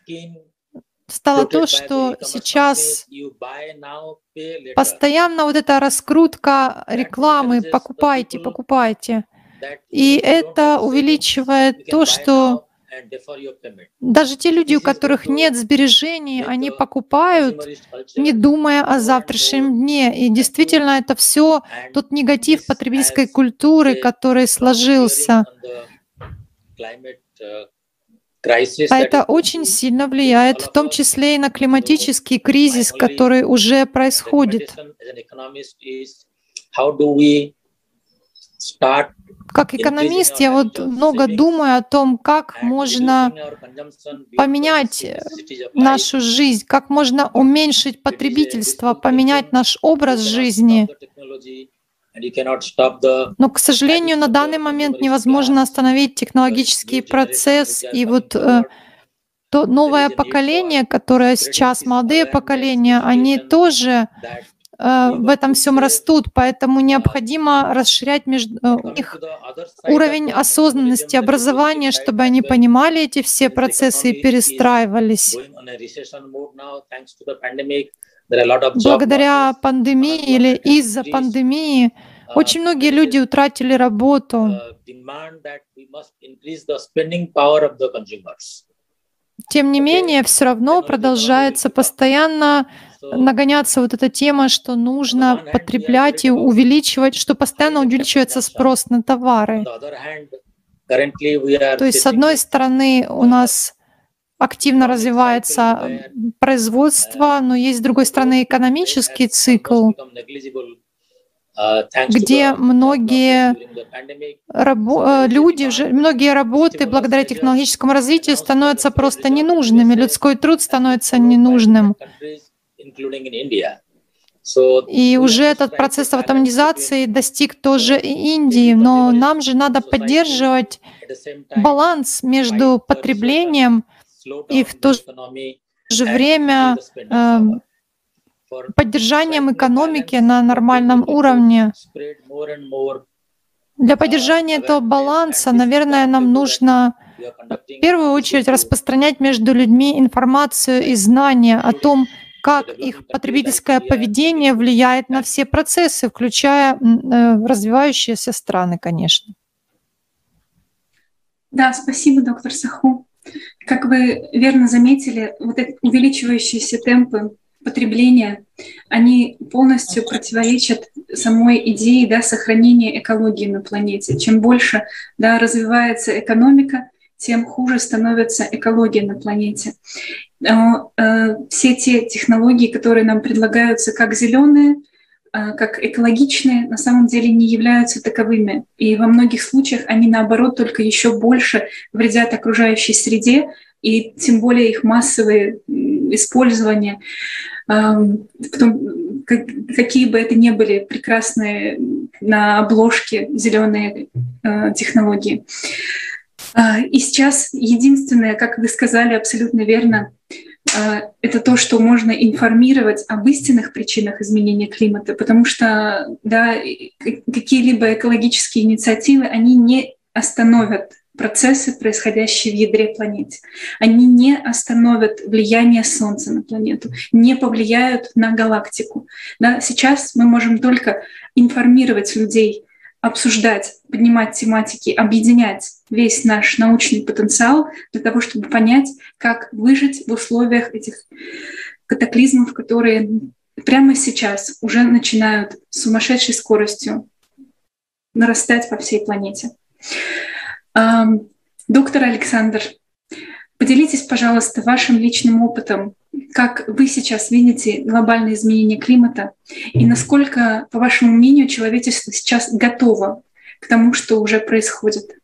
S1: то, что сейчас постоянно вот эта раскрутка рекламы «покупайте, покупайте». И это увеличивает то, что даже те люди, у которых нет сбережений, они покупают, не думая о завтрашнем дне. И действительно, это все тот негатив потребительской культуры, который сложился. А это очень сильно влияет, в том числе и на климатический кризис, который уже происходит. Как экономист, я вот много думаю о том, как можно поменять нашу жизнь, как можно уменьшить потребительство, поменять наш образ жизни. Но, к сожалению, на данный момент невозможно остановить технологический процесс. И вот то новое поколение, которое сейчас, молодые поколения, они тоже в этом всем растут, поэтому необходимо расширять их уровень осознанности, образования, чтобы они понимали эти все процессы и перестраивались. Благодаря пандемии или из-за пандемии очень многие люди утратили работу. Тем не менее, все равно продолжается постоянно нагоняться вот эта тема, что нужно потреблять и увеличивать, что постоянно увеличивается спрос на товары. То есть, с одной стороны, у нас активно развивается производство, но есть, с другой стороны, экономический цикл, где многие многие работы благодаря технологическому развитию становятся просто ненужными, людской труд становится ненужным. И уже этот процесс автоматизации достиг тоже и Индии, но нам же надо поддерживать баланс между потреблением и в то же время поддержанием экономики на нормальном уровне. Для поддержания этого баланса, наверное, нам нужно в первую очередь распространять между людьми информацию и знания о том, как их потребительское поведение влияет на все процессы, включая развивающиеся страны, конечно.
S2: Да, спасибо, доктор Саху. Как вы верно заметили, вот эти увеличивающиеся темпы потребления, они полностью противоречат самой идее сохранения экологии на планете. Чем больше развивается экономика, тем хуже становится экология на планете. Все те технологии, которые нам предлагаются как зеленые, как экологичные, на самом деле не являются таковыми. И во многих случаях они, наоборот, только еще больше вредят окружающей среде, и тем более их массовое использование, какие бы это ни были прекрасные на обложке зеленые технологии. И сейчас единственное, как вы сказали абсолютно верно, это то, что можно информировать об истинных причинах изменения климата, потому что какие-либо экологические инициативы, они не остановят процессы, происходящие в ядре планеты. Они не остановят влияние Солнца на планету, не повлияют на галактику. Сейчас мы можем только информировать людей, обсуждать, поднимать тематики, объединять весь наш научный потенциал для того, чтобы понять, как выжить в условиях этих катаклизмов, которые прямо сейчас уже начинают с сумасшедшей скоростью нарастать по всей планете. Доктор Александр, поделитесь, пожалуйста, вашим личным опытом, как вы сейчас видите глобальные изменения климата и насколько, по вашему мнению, человечество сейчас готово к тому, что уже происходит?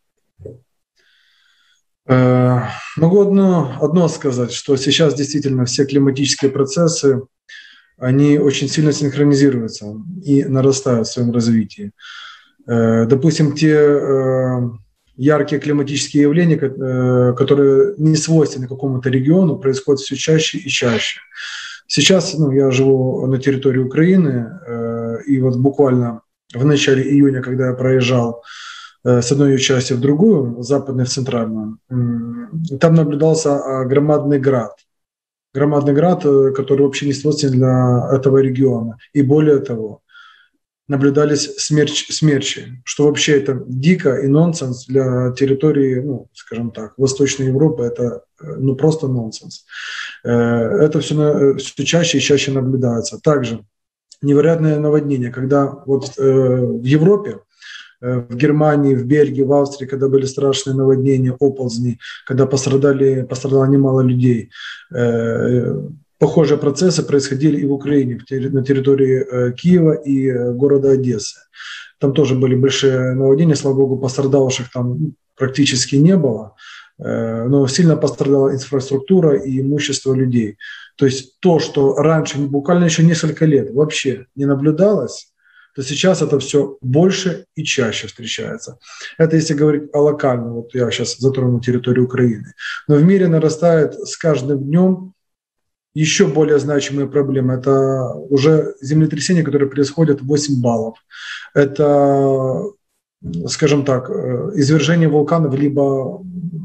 S8: Могу одно сказать, что сейчас действительно все климатические процессы они очень сильно синхронизируются и нарастают в своем развитии. Допустим, те яркие климатические явления, которые не свойственны какому-то региону, происходят все чаще и чаще. Сейчас я живу на территории Украины, и вот буквально в начале июня, когда я проезжал с одной ее части в другую, западной в центральную, там наблюдался громадный град. Громадный град, который вообще не свойственен для этого региона. И более того, наблюдались смерчи, что вообще это дико и нонсенс для территории, скажем так, Восточной Европы. Это просто нонсенс. Это все чаще и чаще наблюдается. Также невероятное наводнение, когда вот в Европе, в Германии, в Бельгии, в Австрии, когда были страшные наводнения, оползни, когда пострадало немало людей. Похожие процессы происходили и в Украине, на территории Киева и города Одессы. Там тоже были большие наводнения, слава богу, пострадавших там практически не было, но сильно пострадала инфраструктура и имущество людей. То есть то, что раньше, буквально еще несколько лет вообще не наблюдалось, то сейчас это все больше и чаще встречается. Это если говорить о локальном, вот я сейчас затрону территорию Украины. Но в мире нарастает с каждым днем еще более значимые проблемы. Это уже землетрясения, которые происходят 8 баллов. Это, скажем так, извержение вулканов, либо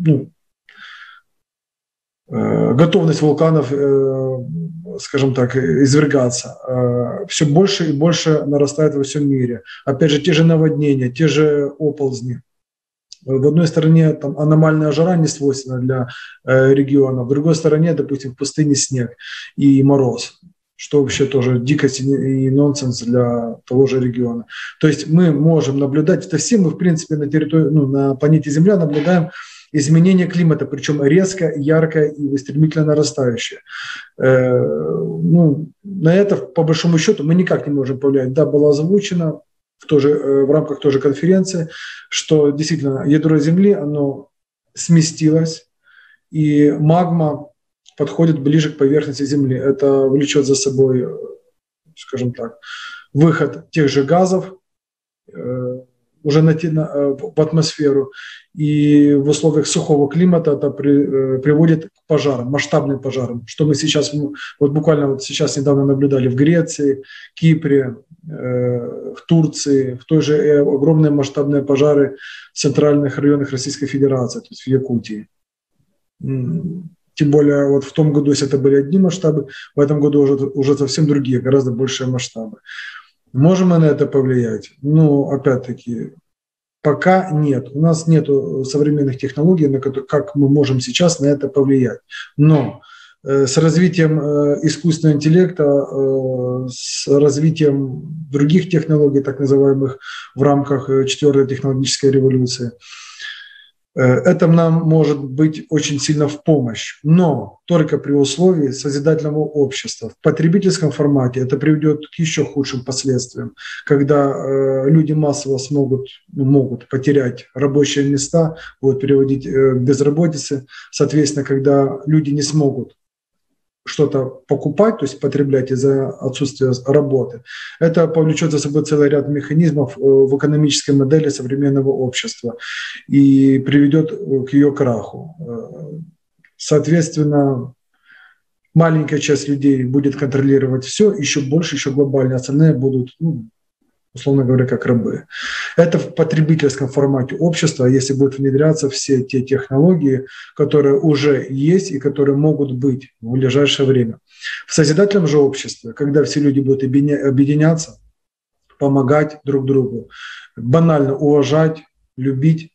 S8: готовность вулканов, скажем так, извергаться. Все больше и больше нарастает во всем мире. Опять же, те же наводнения, те же оползни. В одной стороне там аномальная жара не свойственна для региона, в другой стороне, допустим, в пустыне снег и мороз, что вообще тоже дикость и нонсенс для того же региона. То есть мы можем наблюдать, это все мы, в принципе, на территории, на планете Земля наблюдаем изменение климата, причем резко, ярко и стремительно нарастающее. На это, по большому счету, мы никак не можем повлиять. Да, было озвучено в рамках той же конференции, что действительно ядро Земли, оно сместилось, и магма подходит ближе к поверхности Земли. Это влечет за собой, скажем так, выход тех же газов уже в атмосферу, и в условиях сухого климата это приводит к пожарам, масштабным пожарам, что мы сейчас, буквально сейчас недавно наблюдали в Греции, Кипре, в Турции, в той же огромные масштабные пожары в центральных районах Российской Федерации, то есть в Якутии. Тем более вот в том году, если это были одни масштабы, в этом году уже совсем другие, гораздо большие масштабы. Можем мы на это повлиять? Опять-таки, пока нет. У нас нет современных технологий, как мы можем сейчас на это повлиять. Но с развитием искусственного интеллекта, с развитием других технологий, так называемых, в рамках 4-й технологической революции, это нам может быть очень сильно в помощь, но только при условии созидательного общества. В потребительском формате это приведет к еще худшим последствиям, когда люди массово могут потерять рабочие места, будут приводить к безработице. Соответственно, когда люди не смогут что-то покупать, то есть потреблять из-за отсутствия работы, это повлечет за собой целый ряд механизмов в экономической модели современного общества и приведет к ее краху. Соответственно, маленькая часть людей будет контролировать все, еще больше, еще глобальнее, остальные будут, условно говоря, как рабы. Это в потребительском формате общества, если будут внедряться все те технологии, которые уже есть и которые могут быть в ближайшее время. В созидательном же обществе, когда все люди будут объединяться, помогать друг другу, банально уважать, любить,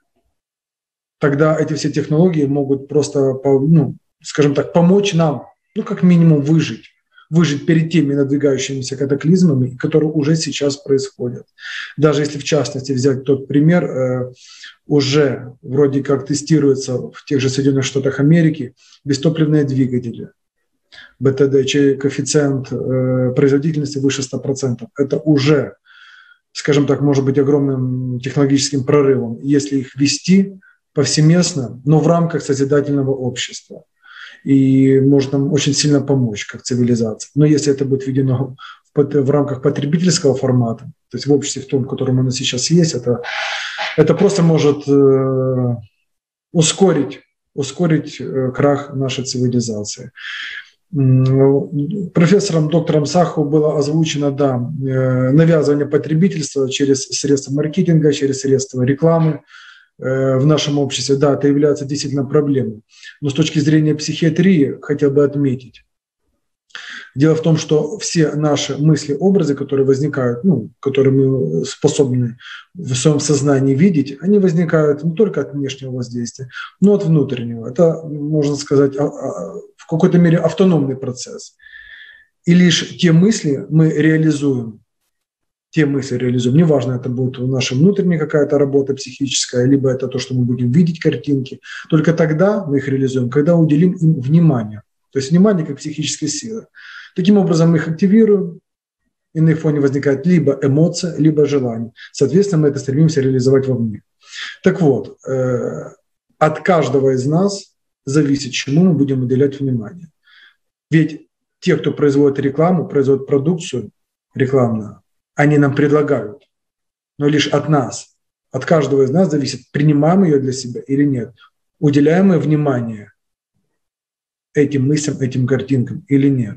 S8: тогда эти все технологии могут просто, скажем так, помочь нам, как минимум выжить перед теми надвигающимися катаклизмами, которые уже сейчас происходят. Даже если в частности взять тот пример, уже вроде как тестируется в тех же Соединенных Штатах Америки бестопливные двигатели. БТД, чей коэффициент производительности выше 100%. Это уже, скажем так, может быть огромным технологическим прорывом, если их вести повсеместно, но в рамках созидательного общества. и может нам очень сильно помочь как цивилизация. Но если это будет введено в рамках потребительского формата, то есть в обществе в том, в котором оно сейчас есть, это просто может ускорить крах нашей цивилизации. Профессором доктором Саху было озвучено, да, навязывание потребительства через средства маркетинга, через средства рекламы в нашем обществе. Да, это является действительно проблемой. Но с точки зрения психиатрии хотел бы отметить. Дело в том, что все наши мысли, образы, которые возникают, которые мы способны в своем сознании видеть, они возникают не только от внешнего воздействия, но и от внутреннего. Это, можно сказать, в какой-то мере автономный процесс. И лишь те мысли мы реализуем, неважно, это будет наша внутренняя какая-то работа психическая, либо это то, что мы будем видеть картинки, только тогда мы их реализуем, когда уделим им внимание. То есть внимание как психическая сила. Таким образом мы их активируем, и на их фоне возникает либо эмоция, либо желание. Соответственно, мы это стремимся реализовать вовне. Так вот, от каждого из нас зависит, чему мы будем уделять внимание. Ведь те, кто производит рекламу, производит продукцию рекламную, они нам предлагают. Но лишь от нас, от каждого из нас зависит, принимаем ее для себя или нет. Уделяем мы внимание этим мыслям, этим картинкам или нет.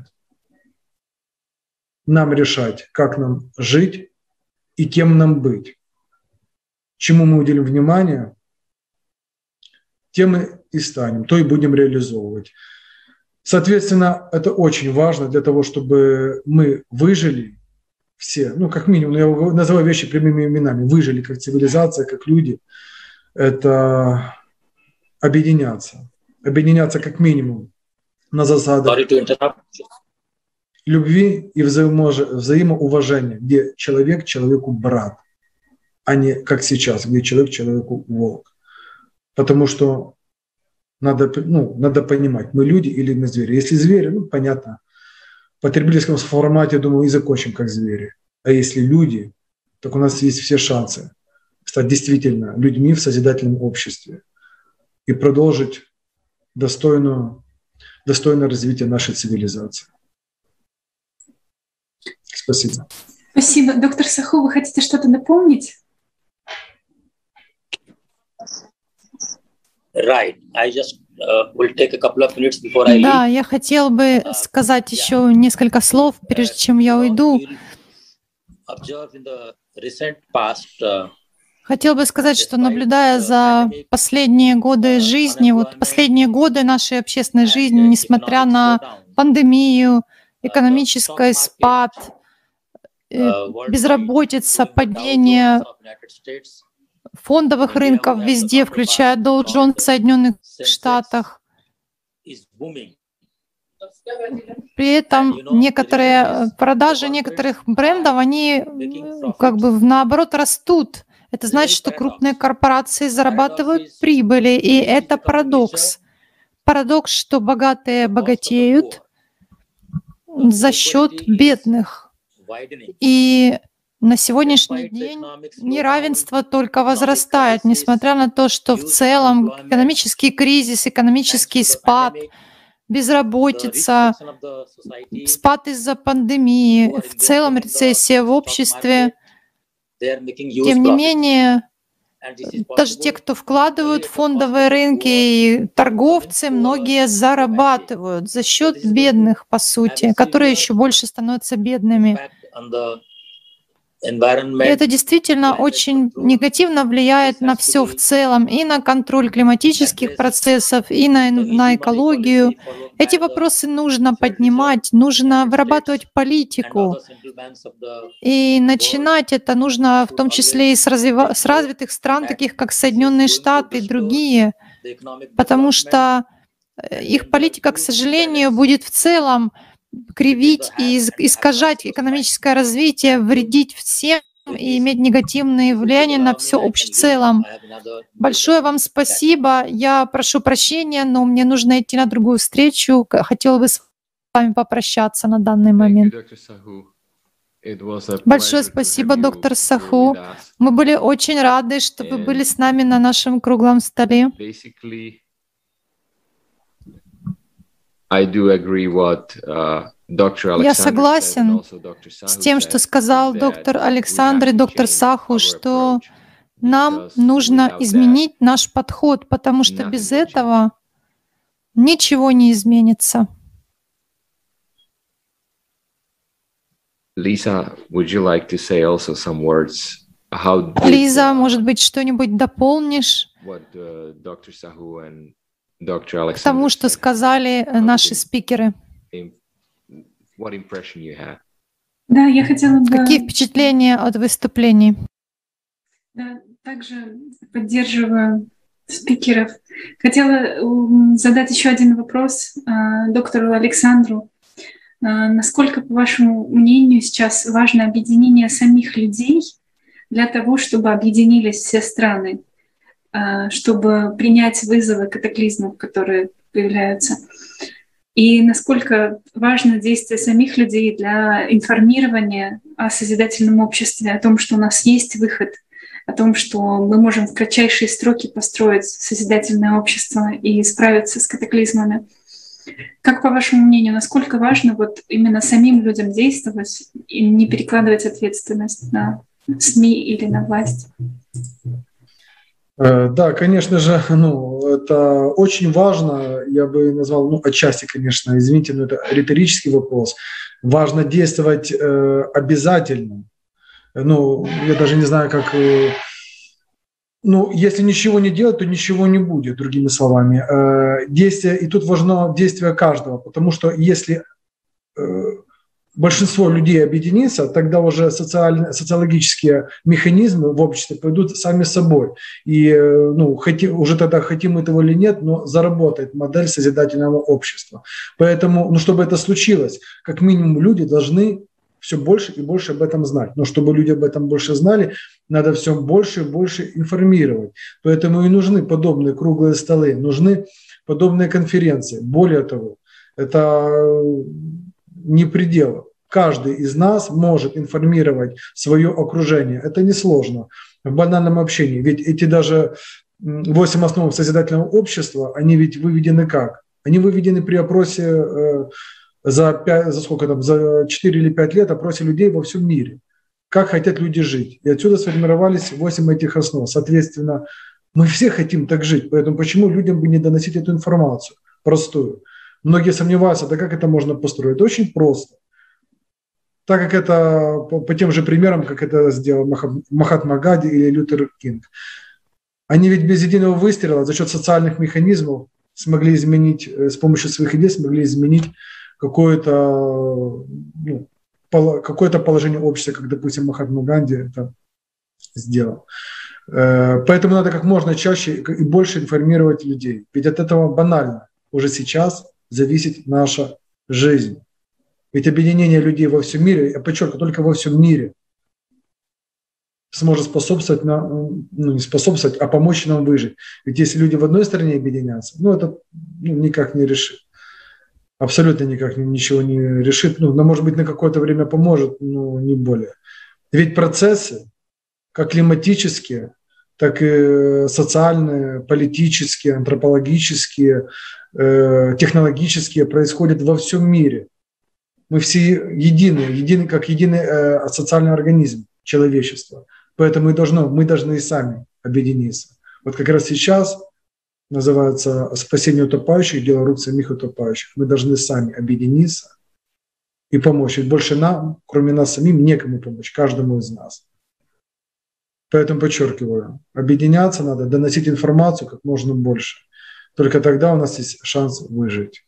S8: Нам решать, как нам жить и кем нам быть. Чему мы уделим внимание, тем мы и станем, то и будем реализовывать. Соответственно, это очень важно для того, чтобы мы выжили все, как минимум, я называю вещи прямыми именами, выжили как цивилизация, как люди, это объединяться. Объединяться как минимум на засадах любви и взаимоуважения, где человек человеку брат, а не как сейчас, где человек человеку волк. Потому что надо понимать, мы люди или мы звери. Если звери, понятно, в потребительском формате, думаю, и закончим как звери. А если люди, так у нас есть все шансы стать действительно людьми в созидательном обществе и продолжить достойное развитие нашей цивилизации. Спасибо.
S2: Спасибо. Доктор Саху, вы хотите что-то напомнить?
S9: Right. I just will take a couple of minutes before I leave.
S1: Да, я хотел бы сказать еще несколько слов, прежде чем я уйду. Хотел бы сказать, что наблюдая за последние годы жизни, последние годы нашей общественной жизни, несмотря на пандемию, экономический спад, безработица, падение фондовых рынков везде, включая Dow Jones в Соединенных Штатах. При этом некоторые продажи некоторых брендов, они наоборот растут. Это значит, что крупные корпорации зарабатывают прибыли, и это парадокс. Парадокс, что богатые богатеют за счет бедных. И на сегодняшний день неравенство только возрастает, несмотря на то, что в целом экономический кризис, экономический спад, безработица, спад из-за пандемии, в целом рецессия в обществе. Тем не менее, даже те, кто вкладывают в фондовые рынки и торговцы, многие зарабатывают за счет бедных, по сути, которые еще больше становятся бедными. И это действительно очень негативно влияет на все в целом, и на контроль климатических процессов, и на экологию. Эти вопросы нужно поднимать, нужно вырабатывать политику. И начинать это нужно в том числе и с развитых стран, таких как Соединенные Штаты и другие, потому что их политика, к сожалению, будет в целом кривить и искажать экономическое развитие, вредить всем и иметь негативные влияния на все общее в целом. Большое вам спасибо. Я прошу прощения, но мне нужно идти на другую встречу. Хотела бы с вами попрощаться на данный момент. Большое спасибо, доктор Саху. Мы были очень рады, что вы были с нами на нашем круглом столе. Я согласен с тем, что сказал доктор Александр и доктор Саху, что нам нужно изменить наш подход, потому что без этого ничего не изменится.
S10: Лиза, would you like to say also some words?
S1: Лиза, может быть, что-нибудь дополнишь к тому, что сказали наши спикеры?
S2: Да, я хотела бы...
S1: Какие впечатления от выступлений?
S2: Да, также поддерживаю спикеров. Хотела задать еще один вопрос доктору Александру. Насколько, по вашему мнению, сейчас важно объединение самих людей для того, чтобы объединились все страны, чтобы принять вызовы катаклизмов, которые появляются? И насколько важно действие самих людей для информирования о созидательном обществе, о том, что у нас есть выход, о том, что мы можем в кратчайшие сроки построить созидательное общество и справиться с катаклизмами? Как, по вашему мнению, насколько важно вот именно самим людям действовать и не перекладывать ответственность на СМИ или на власть?
S8: Да, конечно же, это очень важно, я бы назвал, отчасти, конечно, извините, но это риторический вопрос. Важно действовать обязательно. Я даже не знаю, как... если ничего не делать, то ничего не будет, другими словами. Действие, и тут важно действие каждого, потому что если большинство людей объединится, тогда уже социологические механизмы в обществе пойдут сами собой. И уже тогда, хотим мы этого или нет, но заработает модель созидательного общества. Поэтому, чтобы это случилось, как минимум люди должны все больше и больше об этом знать. Но чтобы люди об этом больше знали, надо все больше и больше информировать. Поэтому и нужны подобные круглые столы, нужны подобные конференции. Более того, это не предел. Каждый из нас может информировать свое окружение. Это несложно в банальном общении. Ведь эти даже 8 основ созидательного общества, они ведь выведены как? Они выведены при опросе за 4 или 5 лет опросе людей во всем мире. Как хотят люди жить. И отсюда сформировались 8 этих основ. Соответственно, мы все хотим так жить. Поэтому почему людям бы не доносить эту информацию простую? Многие сомневаются, да как это можно построить? Очень просто. Так как это по тем же примерам, как это сделал Махатма Ганди или Лютер Кинг. Они ведь без единого выстрела за счет социальных механизмов смогли изменить, с помощью своих идей смогли изменить какое-то положение общества, как, допустим, Махатма Ганди это сделал. Поэтому надо как можно чаще и больше информировать людей. Ведь от этого банально уже сейчас зависит наша жизнь. Ведь объединение людей во всем мире, я подчеркиваю, только во всем мире, сможет способствовать, не способствовать, а помочь нам выжить. Ведь если люди в одной стране объединятся, это никак не решит. Абсолютно никак ничего не решит. Но, может быть, на какое-то время поможет, но не более. Ведь процессы, как климатические, так и социальные, политические, антропологические, технологические, происходят во всем мире. Мы все едины как единый социальный организм человечества. Поэтому мы должны и сами объединиться. Вот как раз сейчас называется «Спасение утопающих, дело рук самих утопающих». Мы должны сами объединиться и помочь. Ведь больше нам, кроме нас самим, некому помочь, каждому из нас. Поэтому подчеркиваю, объединяться надо, доносить информацию как можно больше. Только тогда у нас есть шанс выжить.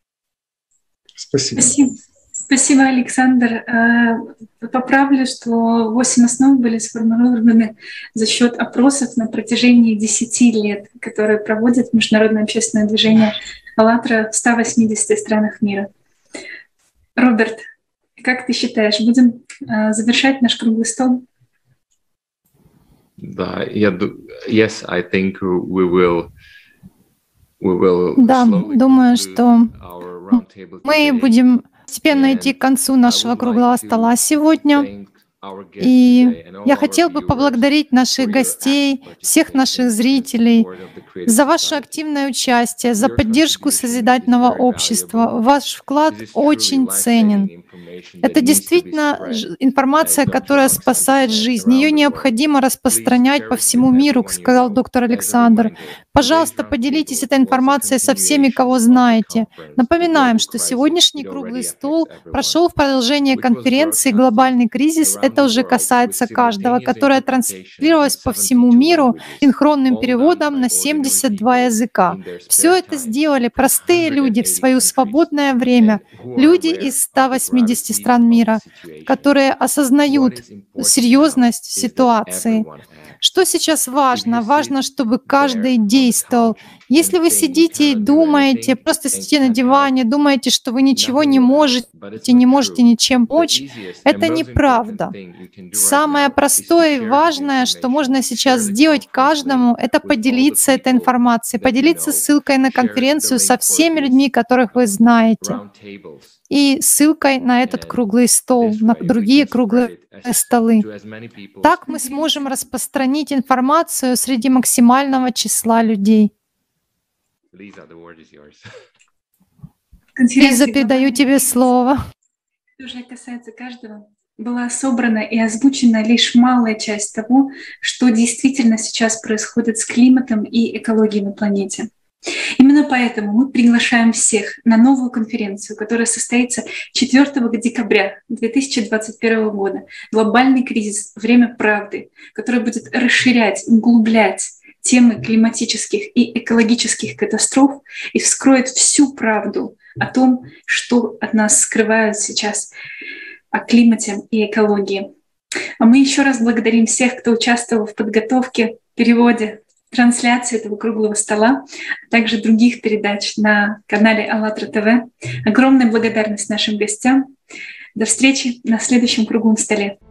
S8: Спасибо.
S2: Спасибо, Александр. Поправлю, что 8 основ были сформулированы за счет опросов на протяжении 10 лет, которые проводит Международное общественное движение «АЛЛАТРА» в 180 странах мира. Роберт, как ты считаешь, будем завершать наш круглый стол?
S10: Да, yes, I think we will.
S1: Да, думаю, что мы будем постепенно идти к концу нашего круглого стола сегодня. И я хотел бы поблагодарить наших гостей, всех наших зрителей за ваше активное участие, за поддержку созидательного общества. Ваш вклад очень ценен. Это действительно информация, которая спасает жизнь. Ее необходимо распространять по всему миру, сказал доктор Александр. Пожалуйста, поделитесь этой информацией со всеми, кого знаете. Напоминаем, что сегодняшний круглый стол прошел в продолжение конференции «Глобальный кризис». Это уже касается каждого, которая транслировалась по всему миру синхронным переводом на 72 языка. Все это сделали простые люди в свое свободное время, люди из 180 стран мира, которые осознают серьезность ситуации. Что сейчас важно? Важно, чтобы каждый действовал. Если вы сидите и думаете, просто сидите на диване, думаете, что вы ничего не можете ничем помочь, это неправда. Самое простое и важное, что можно сейчас сделать каждому, это поделиться этой информацией, поделиться ссылкой на конференцию со всеми людьми, которых вы знаете, и ссылкой на этот круглый стол, на другие круглые столы. Так мы сможем распространить информацию среди максимального числа людей. Лиза, передаю тебе слово.
S2: Уже касается каждого. Была собрана и озвучена лишь малая часть того, что действительно сейчас происходит с климатом и экологией на планете. Именно поэтому мы приглашаем всех на новую конференцию, которая состоится 4 декабря 2021 года. «Глобальный кризис. Время правды», которая будет расширять, углублять темы климатических и экологических катастроф и вскроет всю правду о том, что от нас скрывают сейчас о климате и экологии. А мы еще раз благодарим всех, кто участвовал в подготовке, переводе, трансляции этого круглого стола, а также других передач на канале АЛЛАТРА ТВ. Огромная благодарность нашим гостям. До встречи на следующем круглом столе.